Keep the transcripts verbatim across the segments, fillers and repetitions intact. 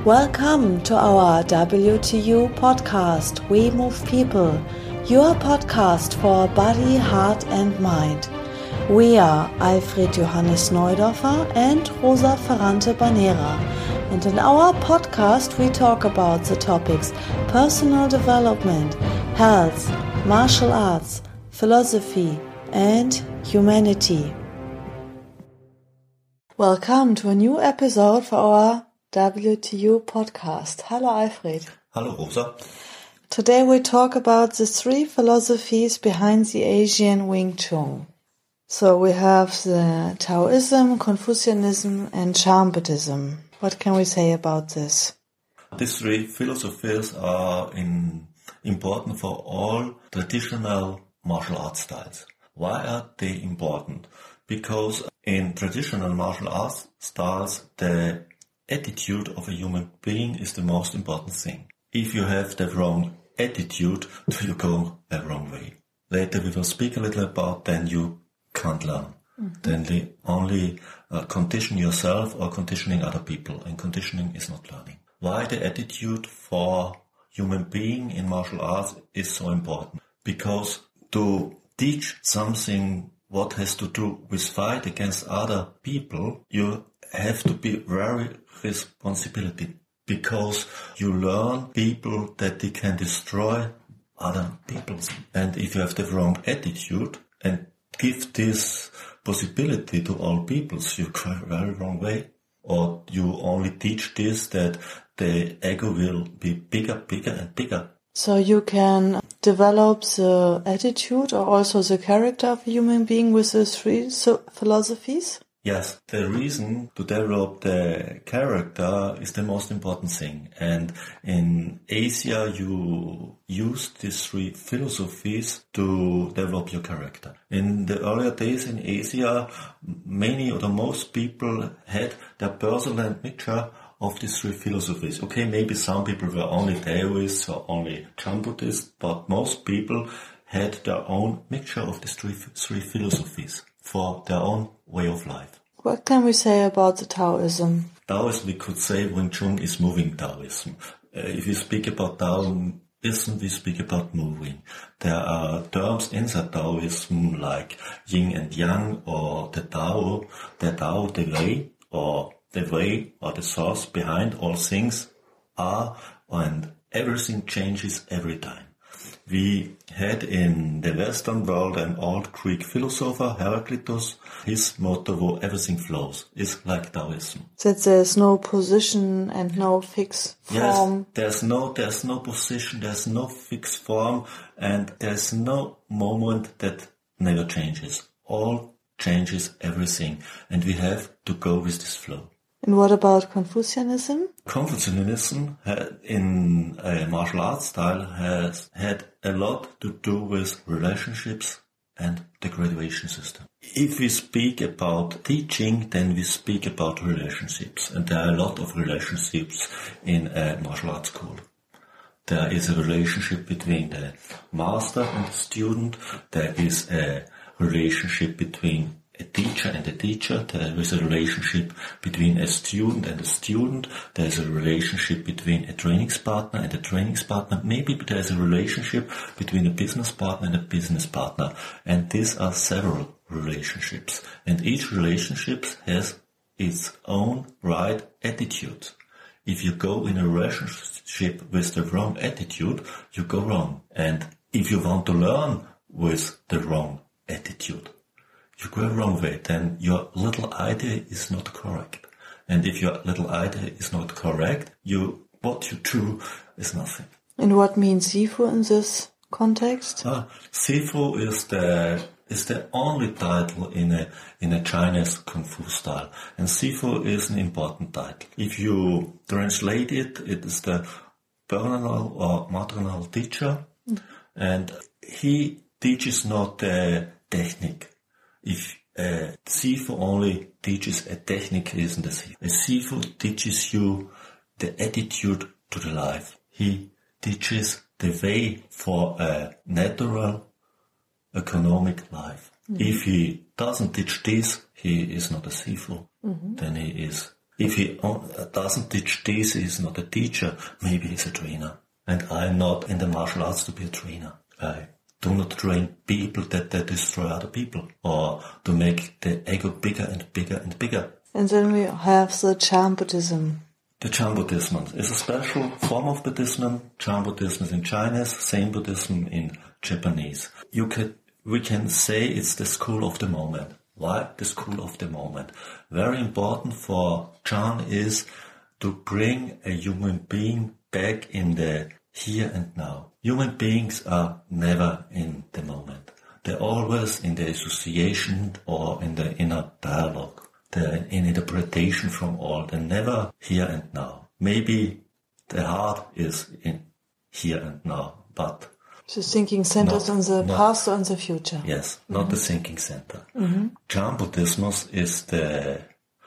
Welcome to our W T U podcast, We Move People, your podcast for body, heart and mind. We are Alfred Johannes Neudorfer and Rosa Ferrante Banera, and in our podcast we talk about the topics personal development, health, martial arts, philosophy and humanity. Welcome to a new episode for our W T U podcast. Hello Alfred. Hello Rosa. Today we talk about the three philosophies behind the Asian Wing Chun. So we have the Taoism, Confucianism and Chan Buddhism. What can we say about this? These three philosophies are in, important for all traditional martial arts styles. Why are they important? Because in traditional martial arts styles, the attitude of a human being is the most important thing. If you have the wrong attitude, you go the wrong way. Later we will speak a little about then you can't learn. Mm-hmm. Then they only uh, condition yourself or conditioning other people, and conditioning is not learning. Why the attitude for human being in martial arts is so important? Because to teach something what has to do with fight against other people, you have to be very responsibility, because you learn people that they can destroy other people. And if you have the wrong attitude and give this possibility to all peoples, you go a very wrong way. Or you only teach this that the ego will be bigger, bigger and bigger. So you can develop the attitude or also the character of a human being with the three philosophies? Yes, the reason to develop the character is the most important thing. And in Asia, you use these three philosophies to develop your character. In the earlier days in Asia, many or the most people had their personal mixture of these three philosophies. Okay, maybe some people were only Taoists or only Chan Buddhists, but most people had their own mixture of these three, three philosophies for their own way of life. What can we say about the Taoism? Taoism, we could say Wing Chun is moving Taoism. Uh, if we speak about Taoism, we speak about moving. There are terms inside Taoism like yin and yang, or the Tao, the Tao, the way, or the way or the source behind all things are, and everything changes every time. We had in the Western world an old Greek philosopher, Heraclitus. His motto was everything flows, is like Taoism. That there's no position and no fixed form. Yes, there's no, there's no position, there's no fixed form, and there's no moment that never changes. All changes everything, and we have to go with this flow. And what about Confucianism? Confucianism in a martial arts style has had a lot to do with relationships and the graduation system. If we speak about teaching, then we speak about relationships. And there are a lot of relationships in a martial arts school. There is a relationship between the master and the student. There is a relationship between a teacher and a teacher. There is a relationship between a student and a student. There is a relationship between a training partner and a training partner. Maybe there is a relationship between a business partner and a business partner. And these are several relationships. And each relationship has its own right attitude. If you go in a relationship with the wrong attitude, you go wrong. And if you want to learn with the wrong attitude, you go the wrong way, then your little idea is not correct. And if your little idea is not correct, you what you do is nothing. And what means Sifu in this context? Uh, Sifu is the is the only title in a in a Chinese Kung Fu style. And Sifu is an important title. If you translate it, it is the paternal or maternal teacher. Mm. And he teaches not the technique. If a Sifu only teaches a technique, he isn't a Sifu. A Sifu teaches you the attitude to the life. He teaches the way for a natural, economic life. Mm-hmm. If he doesn't teach this, he is not a Sifu. Mm-hmm. Then he is If he doesn't teach this, he's not a teacher, maybe he's a trainer. And I'm not in the martial arts to be a trainer. I do not train people that they destroy other people or to make the ego bigger and bigger and bigger. And then we have the Chan Buddhism. The Chan Buddhism is a special form of Buddhism. Chan Buddhism is in Chinese, Zen Buddhism in Japanese. You can, we can say it's the school of the moment. Why the school of the moment? Very important for Chan is to bring a human being back in the here and now. Human beings are never in the moment. They're always in the association or in the inner dialogue. They're in interpretation from all. They're never here and now. Maybe the heart is in here and now, but the thinking centers on the not, past or on the future. Yes, not mm-hmm. the thinking center. Mm-hmm. Chan Buddhism is the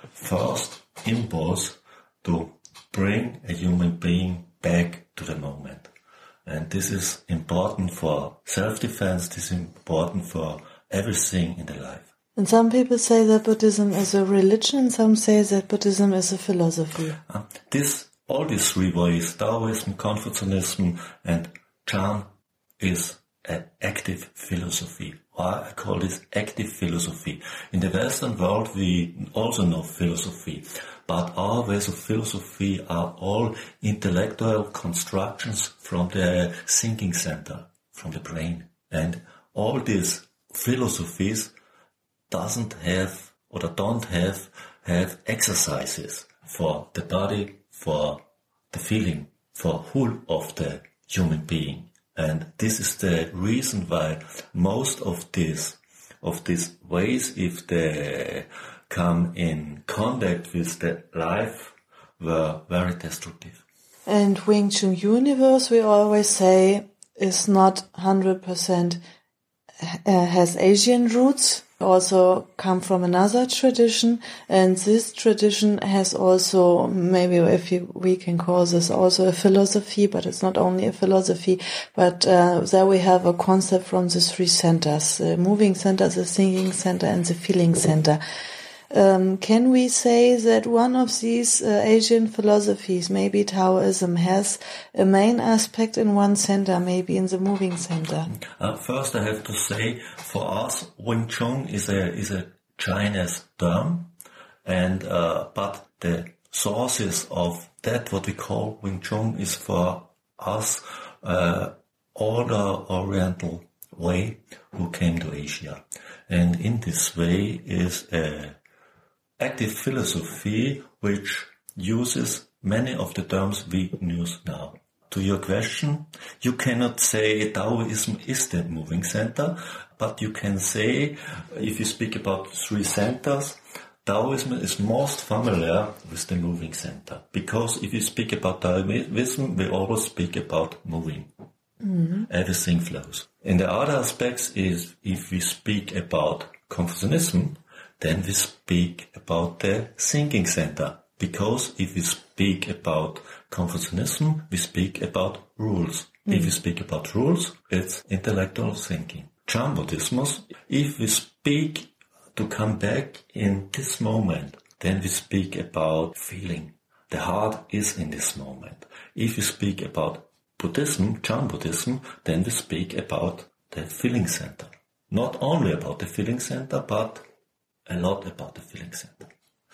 first impulse to bring a human being back to the moment. And this is important for self-defense, this is important for everything in the life. And some people say that Buddhism is a religion, some say that Buddhism is a philosophy. Uh, this, all these three ways, Taoism, Confucianism and Chan, is an active philosophy. Why I call this active philosophy? In the Western world we also know philosophy, but our ways of philosophy are all intellectual constructions from the thinking center, from the brain. And all these philosophies doesn't have or don't have have exercises for the body, for the feeling, for whole of the human being. And this is the reason why most of these of these ways, if they come in contact with the life, were very destructive. And Wing Chun universe, we always say, is not one hundred percent uh, has Asian roots, also come from another tradition, and this tradition has also, maybe if you, we can call this also a philosophy, but it's not only a philosophy, but uh, there we have a concept from the three centers, the moving center, the thinking center, and the feeling center. Um, can we say that one of these uh, Asian philosophies, maybe Taoism, has a main aspect in one center, maybe in the moving center? Uh, first, I have to say, for us, Wing Chun is a is a Chinese term, and uh, but the sources of that, what we call Wing Chun, is for us uh, older Oriental way who came to Asia, and in this way is a active philosophy which uses many of the terms we use now. To your question, you cannot say Taoism is the moving center, but you can say, if you speak about three centers, Taoism is most familiar with the moving center. Because if you speak about Taoism, we always speak about moving. Mm-hmm. Everything flows. And the other aspects is, if we speak about Confucianism, then we speak about the thinking center. Because if we speak about Confucianism, we speak about rules. Mm. If we speak about rules, it's intellectual thinking. Chan Buddhism, if we speak to come back in this moment, then we speak about feeling. The heart is in this moment. If we speak about Buddhism, Chan Buddhism, then we speak about the feeling center. Not only about the feeling center, but a lot about the feeling center.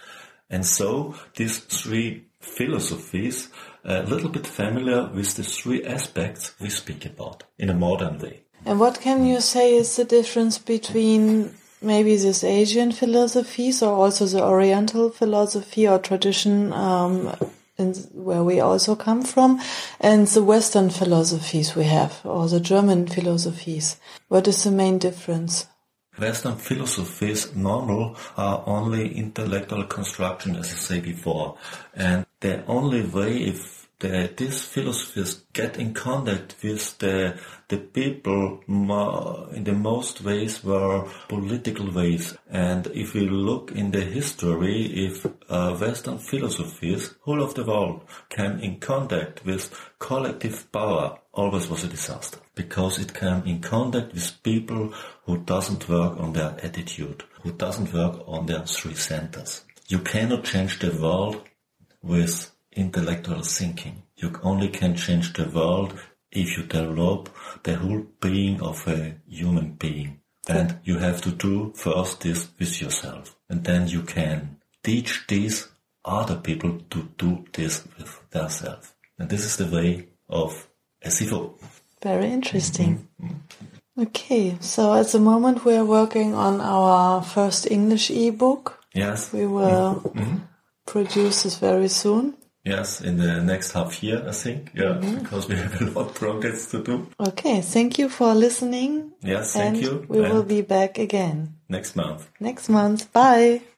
And so these three philosophies are a little bit familiar with the three aspects we speak about in a modern way. And what can you say is the difference between maybe this Asian philosophies or also the Oriental philosophy or tradition um, in, where we also come from, and the Western philosophies we have, or the German philosophies? What is the main difference? Western philosophies normal are only intellectual construction, as I said before, and the only way if the, these philosophies get in contact with the the people more, in the most ways were political ways. And if we look in the history, if uh, Western philosophies, whole of the world, came in contact with collective power, always was a disaster, because it came in contact with people who doesn't work on their attitude, who doesn't work on their three centers. you cannot change the world with intellectual thinking. You only can change the world if you develop the whole being of a human being. And you have to do first this with yourself. And then you can teach these other people to do this with themselves. And this is the way of S I F O. Very interesting. Mm-hmm. Okay, so at the moment we are working on our first English ebook. Yes. We will mm-hmm. produce this very soon. Yes, in the next half year, I think. Yeah, mm-hmm. because we have a lot of projects to do. Okay, thank you for listening. Yes, thank and you. We and will be back again. Next month. Next month. Bye.